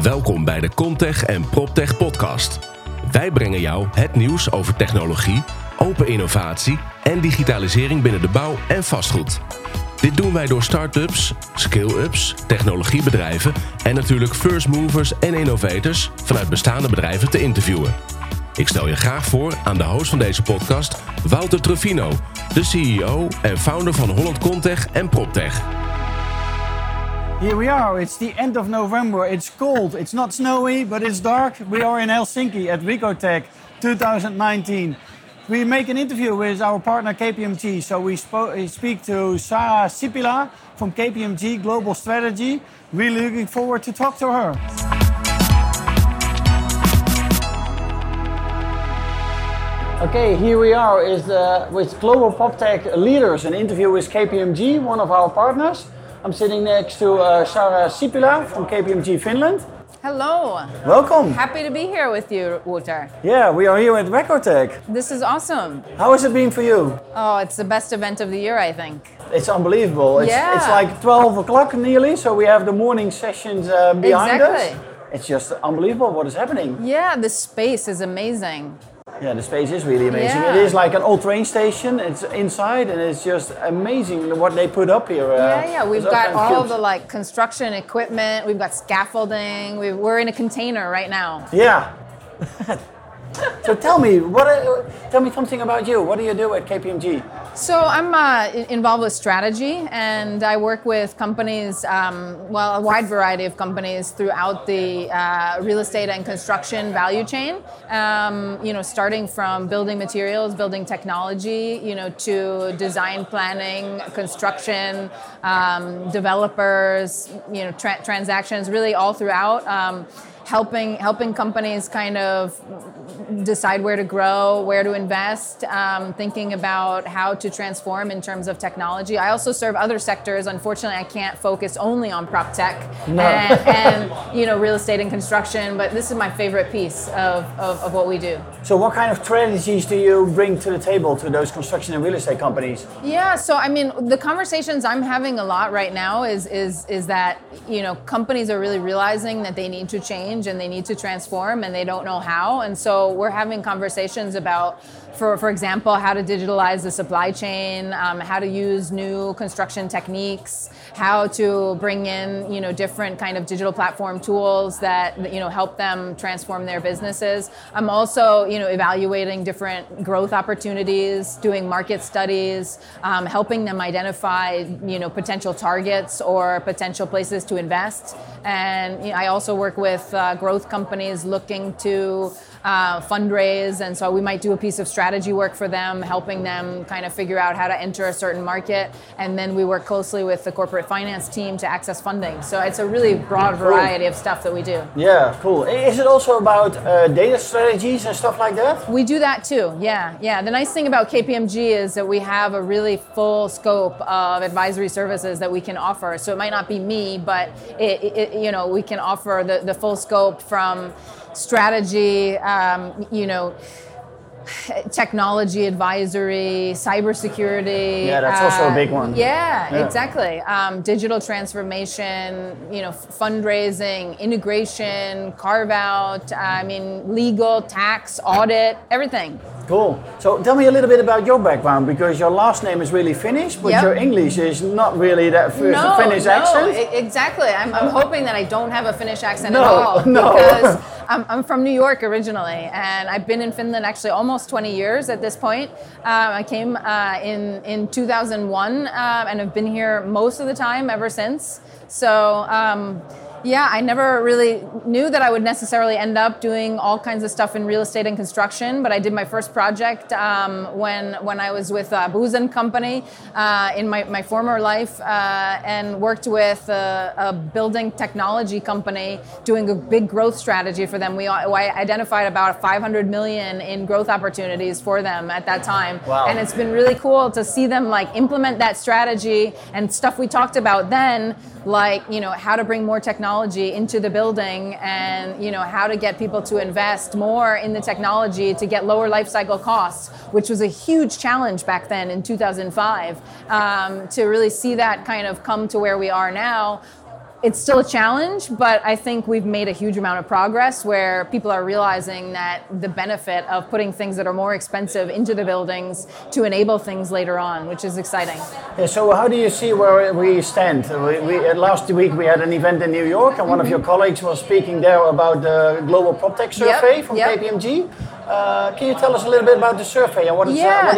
Welkom bij de Comtech en PropTech podcast. Wij brengen jou het nieuws over technologie, open innovatie en digitalisering binnen de bouw en vastgoed. Dit doen wij door start-ups, scale-ups, technologiebedrijven en natuurlijk first movers en innovators vanuit bestaande bedrijven te interviewen. Ik stel je graag voor aan de host van deze podcast, Wouter Truffino, de CEO en founder van Holland Comtech en PropTech. Here we are, it's the end of November, it's cold, it's not snowy, but it's dark. We are in Helsinki at Wicotech 2019. We make an interview with our partner KPMG, so we speak to Sarah Sipila from KPMG Global Strategy. Really looking forward to talk to her. Okay, here we are with Global PropTech leaders, an interview with KPMG, one of our partners. I'm sitting next to Sarah Sipila from KPMG Finland. Hello. Welcome. Happy to be here with you, Wouter. Yeah, we are here at Wicotech. This is awesome. How has it been for you? Oh, it's the best event of the year, I think. It's unbelievable. It's like 12 o'clock nearly, so we have the morning sessions behind us. It's just unbelievable what is happening. Yeah, the space is amazing. Yeah, the space is really amazing. Yeah. It is like an old train station. It's inside, and it's just amazing what they put up here. We've got all of the construction equipment. We've got scaffolding. We're in a container right now. Yeah. So tell me something about you. What do you do at KPMG? So I'm involved with strategy, and I work with companies, a wide variety of companies throughout the real estate and construction value chain. Starting from building materials, building technology, to design planning, construction, developers, transactions, really all throughout. Helping companies kind of decide where to grow, where to invest, thinking about how to transform in terms of technology. I also serve other sectors. Unfortunately, I can't focus only on prop tech and real estate and construction, but this is my favorite piece of what we do. So what kind of strategies do you bring to the table to those construction and real estate companies? Yeah, so the conversations I'm having a lot right now is that, companies are really realizing that they need to change and they need to transform and they don't know how. And so we're having conversations about, for example, how to digitalize the supply chain, how to use new construction techniques, how to bring in, different kind of digital platform tools that, help them transform their businesses. I'm also, evaluating different growth opportunities, doing market studies, helping them identify, potential targets or potential places to invest. And I also work with growth companies looking to fundraise, and so we might do a piece of strategy work for them, helping them kind of figure out how to enter a certain market, and then we work closely with the corporate finance team to access funding. So it's a really broad variety of stuff that we do. Yeah, cool. Is it also about data strategies and stuff like that? We do that too, yeah. The nice thing about KPMG is that we have a really full scope of advisory services that we can offer. So it might not be me, but we can offer the full scope from strategy, technology advisory, cybersecurity. Yeah, that's also a big one. Yeah, exactly. Digital transformation, fundraising, integration, carve out, legal, tax, audit, everything. Cool. So tell me a little bit about your background, because your last name is really Finnish, but your English is not really that Finnish accent. Exactly. I'm hoping that I don't have a Finnish accent at all. Because I'm from New York originally, and I've been in Finland actually almost 20 years at this point. I came in 2001 and have been here most of the time ever since. So I never really knew that I would necessarily end up doing all kinds of stuff in real estate and construction, but I did my first project when I was with Booz & Company in my former life and worked with a building technology company doing a big growth strategy for them. I identified about 500 million in growth opportunities for them at that time. Wow. And it's been really cool to see them implement that strategy and stuff we talked about then, how to bring more technology into the building and, how to get people to invest more in the technology to get lower life cycle costs, which was a huge challenge back then in 2005. To really see that kind of come to where we are now, it's still a challenge, but I think we've made a huge amount of progress where people are realizing that the benefit of putting things that are more expensive into the buildings to enable things later on, which is exciting. Yeah, so how do you see where we stand? Last week we had an event in New York, and one of your colleagues was speaking there about the Global PropTech Survey from KPMG. Can you tell us a little bit about the survey and what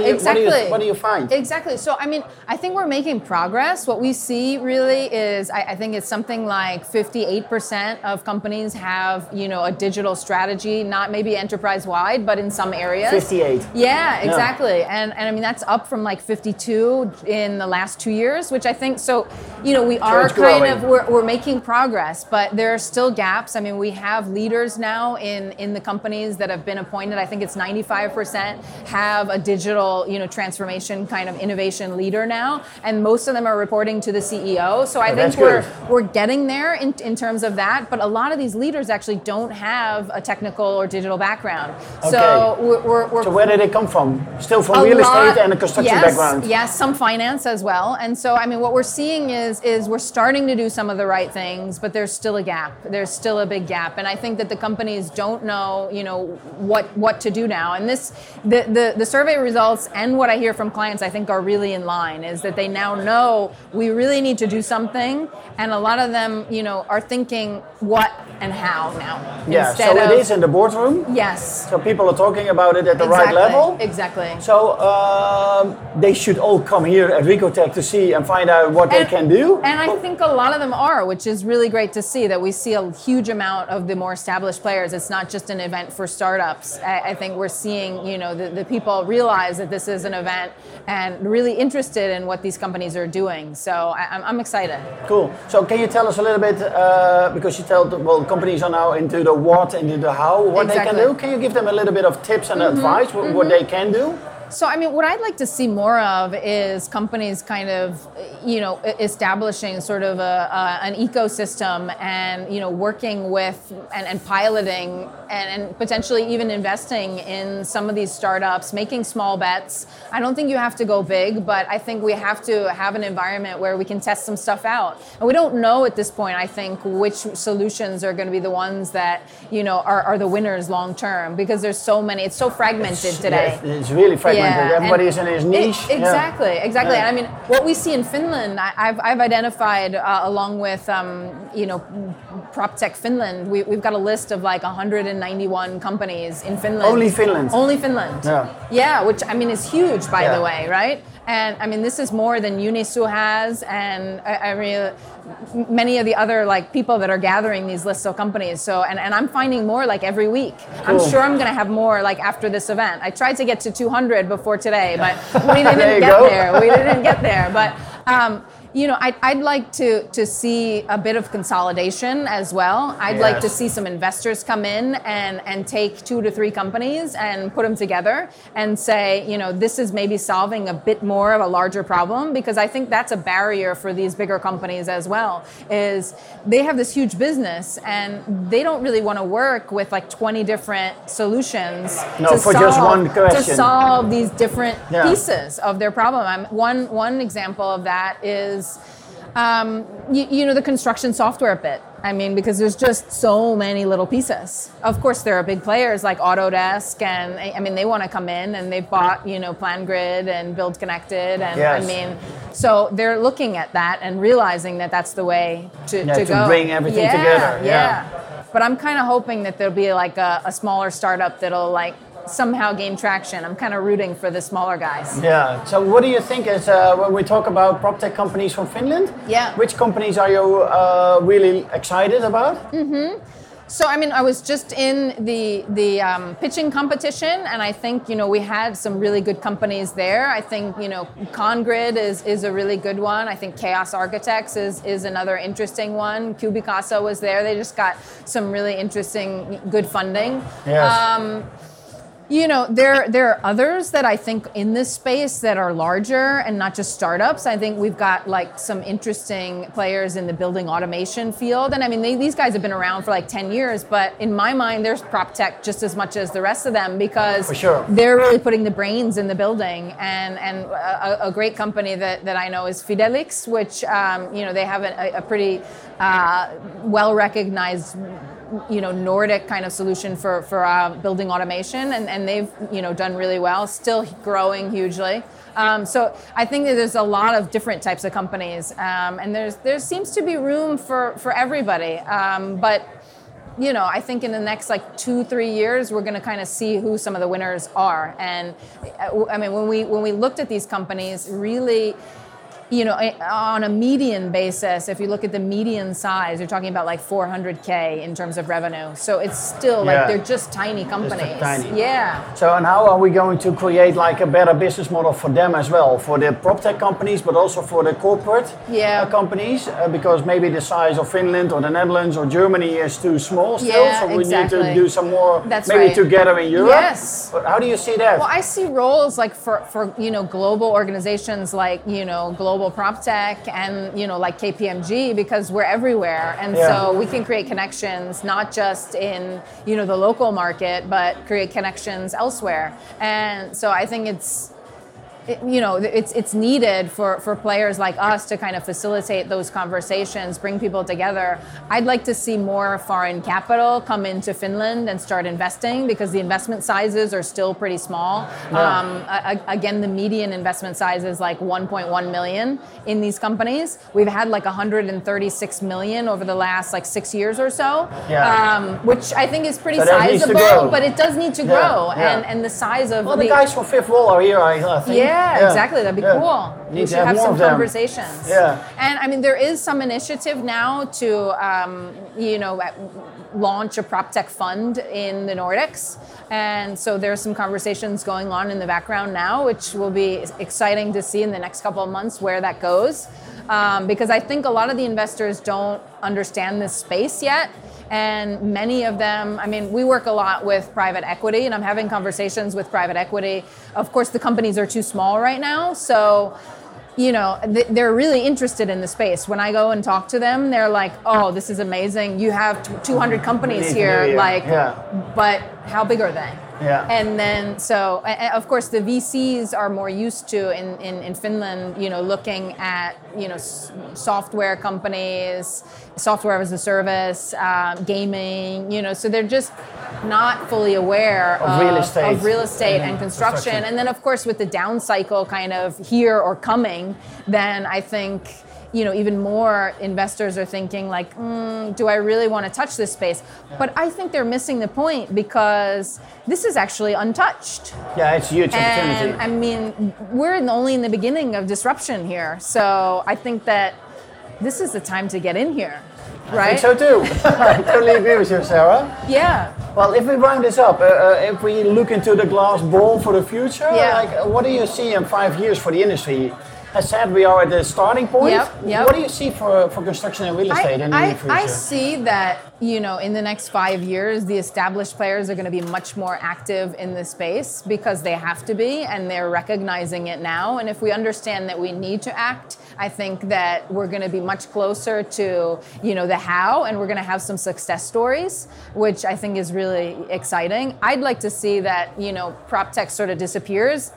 do you find? Exactly. So, I mean, I think we're making progress. What we see really is, I think it's something like 58% of companies have, a digital strategy, not maybe enterprise-wide, but in some areas. 58. Yeah, exactly. Yeah. And I mean, that's up from like 52 in the last 2 years, which I think, we are we're making progress, but there are still gaps. I mean, we have leaders now in the companies that have been appointed. I think it's 95% have a digital, transformation kind of innovation leader now, and most of them are reporting to the CEO. So I think we're getting there in terms of that. But a lot of these leaders actually don't have a technical or digital background. Okay. So where did they come from? Still from real estate and a construction background? Yes, some finance as well. And so I mean, what we're seeing is we're starting to do some of the right things, but there's still a gap. There's still a big gap, and I think that the companies don't know, what to do now. And the survey results and what I hear from clients, I think, are really in line, is that they now know we really need to do something, and a lot of them, are thinking what and how now. Yeah, so it is in the boardroom? Yes. So people are talking about it at the right level? Exactly. So they should all come here at Recotech to see and find out what they can do? And I think a lot of them are, which is really great to see, that we see a huge amount of the more established players. It's not just an event for startups. I think we're seeing, the people realize that this is an event and really interested in what these companies are doing. So I'm excited. Cool. So can you tell us a little bit, because you companies are now into the what and into the how, what they can do. Can you give them a little bit of tips and advice, what they can do? So, I mean, what I'd like to see more of is companies kind of, establishing sort of an ecosystem and, working with and piloting and potentially even investing in some of these startups, making small bets. I don't think you have to go big, but I think we have to have an environment where we can test some stuff out. And we don't know at this point, I think, which solutions are going to be the ones that, are the winners long term, because there's so many, it's so fragmented today. Yeah, it's really fragmented. Yeah. Everybody is in his niche. Exactly. Yeah. And I mean, what we see in Finland, I've identified along with, PropTech Finland, we've got a list of like 191 companies in Finland. Only Finland? Only Finland. Yeah, which I mean is huge, by the way, right? And I mean, this is more than Unisu has, and I mean, many of the other like people that are gathering these lists of companies. So, and I'm finding more like every week. Cool. I'm sure I'm going to have more like after this event. I tried to get to 200 before today, but we didn't get there. We didn't get there. But I'd like to see a bit of consolidation as well. I'd like to see some investors come in and take 2 to 3 companies and put them together and say, this is maybe solving a bit more of a larger problem, because I think that's a barrier for these bigger companies as well, is they have this huge business and they don't really want to work with like 20 different solutions just one question. To solve these different pieces of their problem. One example of that is the construction software bit. I mean, because there's just so many little pieces. Of course, there are big players like Autodesk, and I mean, they want to come in, and they've bought, PlanGrid and Build Connected, and I mean, so they're looking at that and realizing that that's the way to go. To bring everything together. Yeah. But I'm kind of hoping that there'll be like a smaller startup that'll like somehow gain traction. I'm kind of rooting for the smaller guys. Yeah. So what do you think is, when we talk about PropTech companies from Finland, which companies are you really excited about? So, I mean, I was just in the pitching competition, and I think, we had some really good companies there. I think, ConGrid is a really good one. I think Chaos Architects is another interesting one. Cubicasa was there. They just got some really interesting, good funding. Yes. There are others that I think in this space that are larger and not just startups. I think we've got like some interesting players in the building automation field. And I mean, these guys have been around for like 10 years, but in my mind, there's prop tech just as much as the rest of them because they're really putting the brains in the building. And a great company that I know is Fidelix, which, they have a pretty well-recognized Nordic kind of solution for building automation, and they've done really well, still growing hugely. So I think that there's a lot of different types of companies, and there seems to be room for everybody. But I think in the next like 2-3 years, we're going to kind of see who some of the winners are. And I mean, when we looked at these companies, really. On a median basis, if you look at the median size, you're talking about like 400K in terms of revenue. So it's still like they're just tiny companies. Just tiny. Yeah. So and how are we going to create like a better business model for them as well, for the prop tech companies, but also for the corporate companies? Because maybe the size of Finland or the Netherlands or Germany is too small still. So we need to do some more together in Europe. Yes. How do you see that? Well, I see roles like for global organizations like global prop tech and like KPMG, because we're everywhere, and so we can create connections not just in the local market, but create connections elsewhere. And so I think it's needed for players like us to kind of facilitate those conversations, bring people together. I'd like to see more foreign capital come into Finland and start investing, because the investment sizes are still pretty small. Again, the median investment size is like 1.1 million in these companies. We've had like 136 million over the last like 6 years or so, which I think is pretty sizable, but it does need to grow. And the size of the guys from Fifth Wall are here, I think. Yeah, exactly. That'd be cool. We should have some conversations. Yeah. And I mean, there is some initiative now to, launch a prop tech fund in the Nordics. And so there's some conversations going on in the background now, which will be exciting to see in the next couple of months where that goes. Because I think a lot of the investors don't understand this space yet. And many of them, I mean, we work a lot with private equity, and I'm having conversations with private equity. Of course, the companies are too small right now. So, they're really interested in the space. When I go and talk to them, they're like, oh, this is amazing. You have 200 companies here. But how big are they? Yeah. And then, so, of course, the VCs are more used to, in Finland, looking at, software companies, software as a service, gaming, so they're just not fully aware of real estate and construction. And then, of course, with the down cycle kind of here or coming, then I think, even more investors are thinking like, do I really want to touch this space? But I think they're missing the point, because this is actually untouched. Yeah, it's a huge opportunity. And I mean, we're only in the beginning of disruption here. So I think that this is the time to get in here. Right? I think so too. I totally agree with you, Sarah. Yeah. Well, if we round this up, if we look into the glass ball for the future, what do you see in 5 years for the industry? As said, we are at the starting point. Yep. What do you see for construction and real estate in the near future? I see that, in the next 5 years, the established players are going to be much more active in this space, because they have to be, and they're recognizing it now. And if we understand that we need to act, I think that we're going to be much closer to, the how, and we're going to have some success stories, which I think is really exciting. I'd like to see that, prop tech sort of disappears,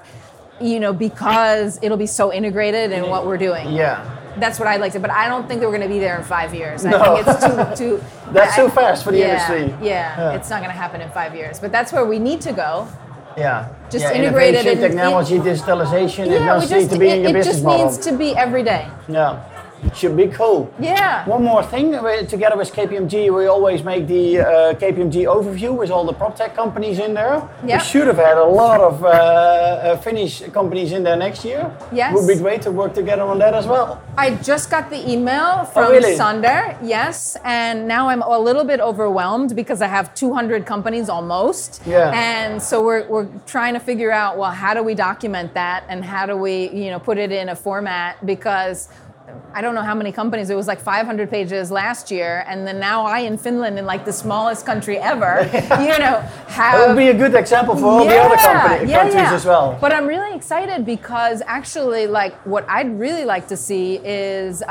because it'll be so integrated in what we're doing. Yeah. That's what I'd like to, but I don't think that we're going to be there in 5 years. I think it's too That's too fast for the industry. Yeah, it's not going to happen in 5 years. But that's where we need to go. Yeah. Just integrated in technology, digitalization, it does need to be in your business model. It just needs to be every day. Yeah. Should be cool. Yeah. One more thing, together with KPMG, we always make the KPMG overview with all the prop tech companies in there. Yep. We should have had a lot of Finnish companies in there next year. Yes. It would be great to work together on that as well. I just got the email from Sander, yes, and now I'm a little bit overwhelmed because I have 200 companies almost. Yeah. And so we're trying to figure out, well, how do we document that, and how do we, put it in a format, because I don't know how many companies. It was like 500 pages last year, and then now I in Finland, in like the smallest country ever, have. It would be a good example for all the other countries as well. But I'm really excited because actually, like, what I'd really like to see is.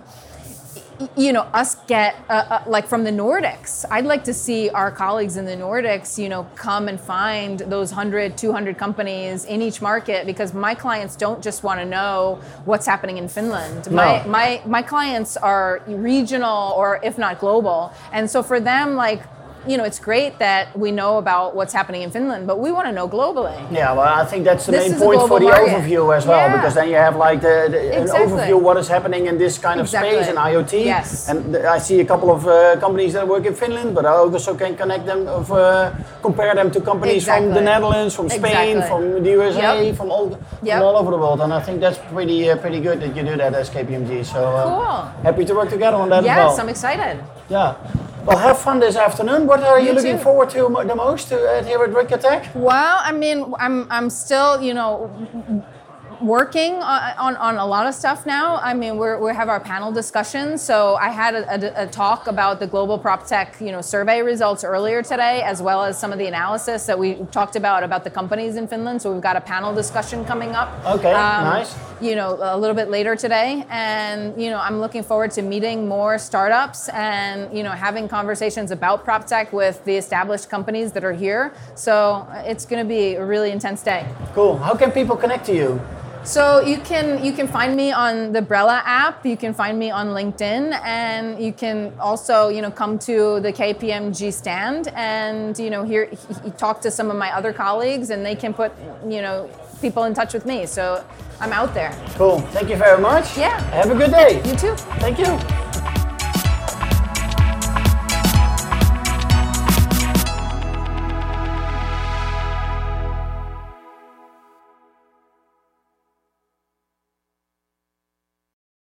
Us get, like from the Nordics, I'd like to see our colleagues in the Nordics, come and find those 100, 200 companies in each market, because my clients don't just want to know what's happening in Finland. No. My clients are regional or if not global. And so for them, like, it's great that we know about what's happening in Finland, but we want to know globally. Yeah, well, I think that's the main point for the overview as well, because then you have like an overview of what is happening in this kind of space in IoT. Yes. And I see a couple of companies that work in Finland, but I also can connect them, compare them to companies from the Netherlands, from Spain, from the USA, from all over the world. And I think that's pretty good that you do that as KPMG. So cool. Happy to work together on that as well. Yes, I'm excited. Yeah. Well, have fun this afternoon. What are you looking forward to the most here at Wikotech? Well, I mean, I'm still, working on a lot of stuff now. I mean, we have our panel discussions. So I had a talk about the Global PropTech, survey results earlier today, as well as some of the analysis that we talked about the companies in Finland. So we've got a panel discussion coming up. Okay, nice. A little bit later today. And, I'm looking forward to meeting more startups and, having conversations about PropTech with the established companies that are here. So it's going to be a really intense day. Cool. How can people connect to you? So you can find me on the Brella app. You can find me on LinkedIn, and you can also come to the KPMG stand and talk to some of my other colleagues, and they can put people in touch with me. So I'm out there. Cool. Thank you very much. Yeah. Have a good day. You too. Thank you.